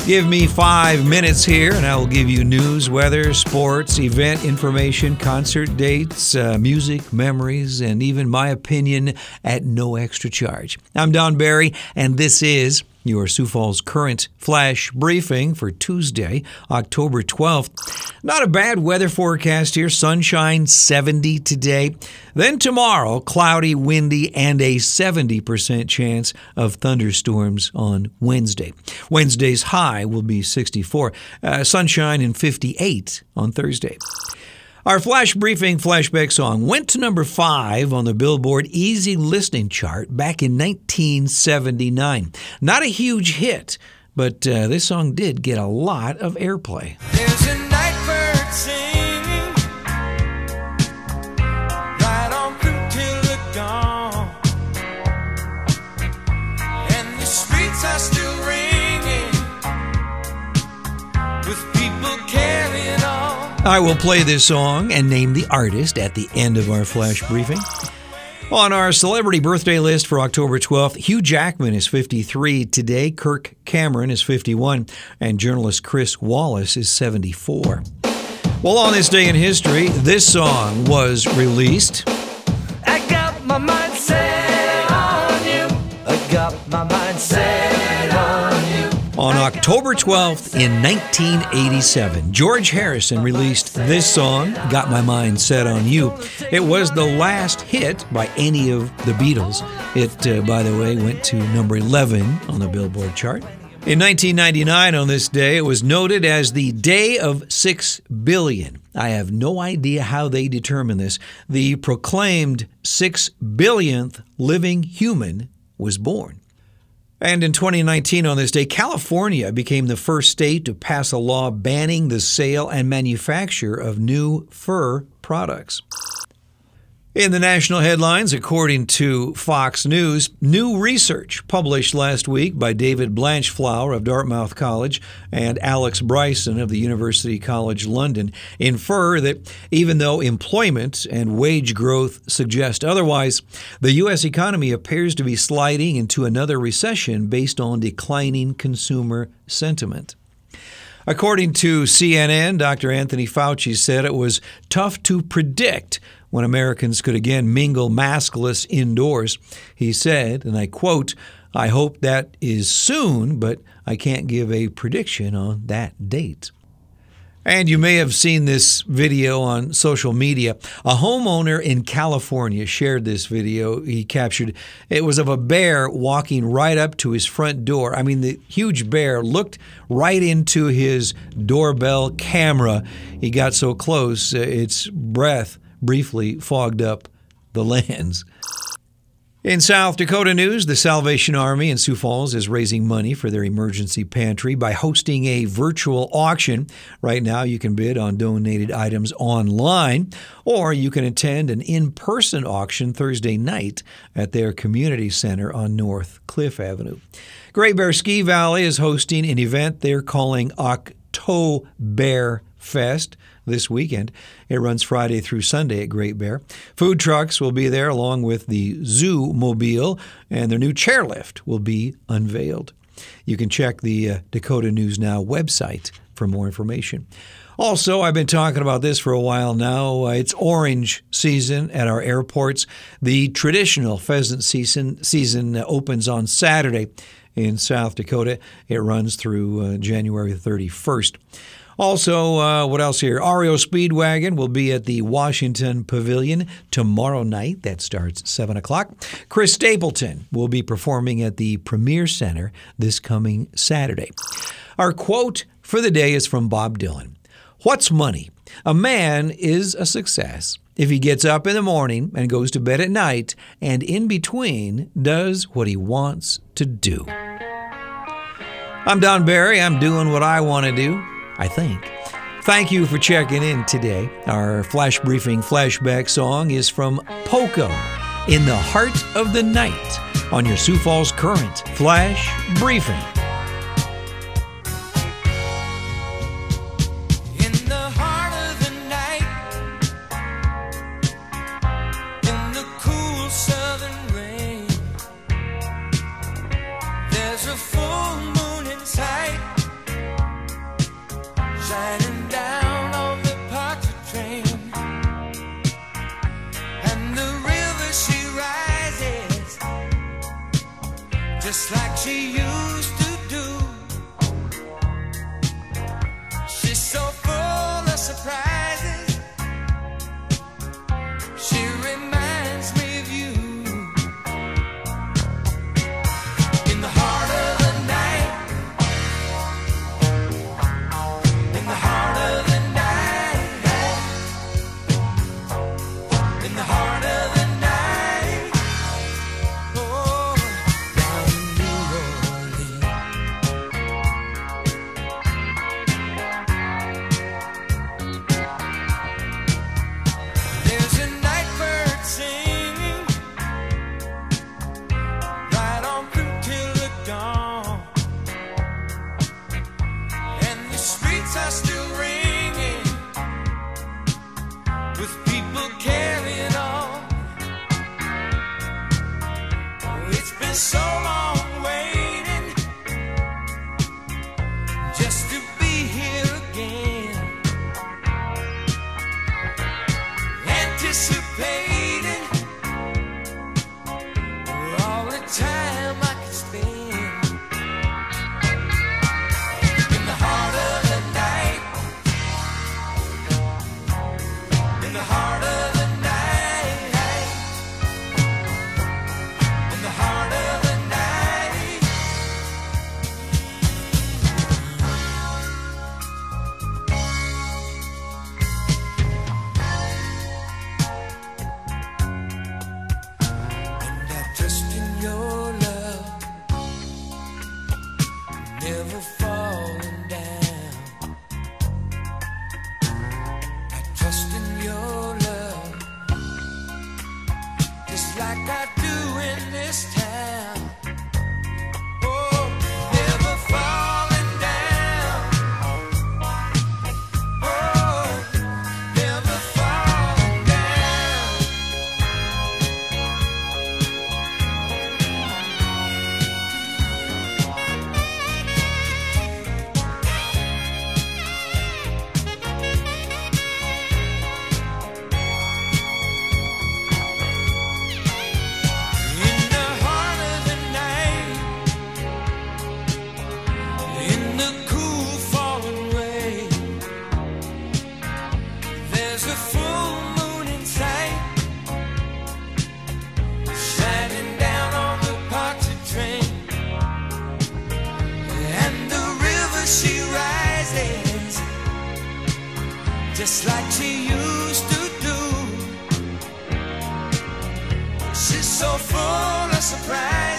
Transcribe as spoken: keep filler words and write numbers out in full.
Give me five minutes here, and I will give you news, weather, sports, event information, concert dates, uh, music, memories, and even my opinion at no extra charge. I'm Don Barry, and this is your Sioux Falls Current Flash Briefing for Tuesday, October twelfth. Not a bad weather forecast here. Sunshine, seventy today. Then tomorrow, cloudy, windy, and a seventy percent chance of thunderstorms on Wednesday. Wednesday's high will be sixty-four. Uh, sunshine and fifty-eight on Thursday. Our Flash Briefing flashback song went to number five on the Billboard Easy Listening chart back in nineteen seventy-nine. Not a huge hit, but uh, this song did get a lot of airplay. There's a night bird singing right on through till the dawn, and the streets are still ringing with people carrying on. I will play this song and name the artist at the end of our Flash Briefing. On our celebrity birthday list for October twelfth, Hugh Jackman is fifty-three today, Kirk Cameron is fifty-one, and journalist Chris Wallace is seventy-four. Well, on this day in history, this song was released. I got my mind set on you. I got my mind set on you. On October twelfth in nineteen eighty-seven, George Harrison released this song, Got My Mind Set on You. It was the last hit by any of the Beatles. It, uh, by the way, went to number eleven on the Billboard chart. In nineteen ninety-nine, on this day, it was noted as the Day of Six Billion. I have no idea how they determine this. The proclaimed six billionth living human was born. And in twenty nineteen, on this day, California became the first state to pass a law banning the sale and manufacture of new fur products. In the national headlines, according to Fox News, new research published last week by David Blanchflower of Dartmouth College and Alex Bryson of the University College London infer that even though employment and wage growth suggest otherwise, the U S economy appears to be sliding into another recession based on declining consumer sentiment. According to C N N, Doctor Anthony Fauci said it was tough to predict when Americans could again mingle maskless indoors. He said, and I quote, "I hope that is soon, but I can't give a prediction on that date." And you may have seen this video on social media. A homeowner in California shared this video he captured. It was of a bear walking right up to his front door. I mean, the huge bear looked right into his doorbell camera. He got so close, uh, its breath briefly fogged up the lens. In South Dakota news, the Salvation Army in Sioux Falls is raising money for their emergency pantry by hosting a virtual auction. Right now, you can bid on donated items online, or you can attend an in-person auction Thursday night at their community center on North Cliff Avenue. Great Bear Ski Valley is hosting an event they're calling Octobear Fest this weekend. It runs Friday through Sunday at Great Bear. Food trucks will be there along with the Zoo Mobile, and their new chairlift will be unveiled. You can check the uh, Dakota News Now website for more information. Also, I've been talking about this for a while now. Uh, it's orange season at our airports. The traditional pheasant season, season opens on Saturday in South Dakota. It runs through uh, January thirty-first. Also, uh, what else here? R E O Speedwagon will be at the Washington Pavilion tomorrow night. That starts at seven o'clock. Chris Stapleton will be performing at the Premier Center this coming Saturday. Our quote for the day is from Bob Dylan. What's money? A man is a success if he gets up in the morning and goes to bed at night and in between does what he wants to do. I'm Don Barry. I'm doing what I want to do. I think. Thank you for checking in today. Our Flash Briefing flashback song is from Poco, In the Heart of the Night, on your Sioux Falls Current Flash Briefing. In the heart of the night, in the cool southern rain, there's a full moon in sight. she used to do. She's so full of surprises. She reminds me of you. In the heart of the night, in the heart of the night, in the heart of the night, oh, down in New Orleans. There's a night bird singing right on through till the dawn, and the streets are still ringing with people carrying on. Oh, it's been so long waiting just to be here again, anticipating all the time I could spend in the heart of the night, in the heart of the night, in the heart of the night. And I trust in your love, never falling down. I trust in your love, just like I do in this town. Oh, never falling down. Oh, never falling down. In the heart of the night, in the cool falling rain, there's a full moon in sight, shining down on the Pontchartrain, and the river she rises just like she used to do. She's so full of surprise.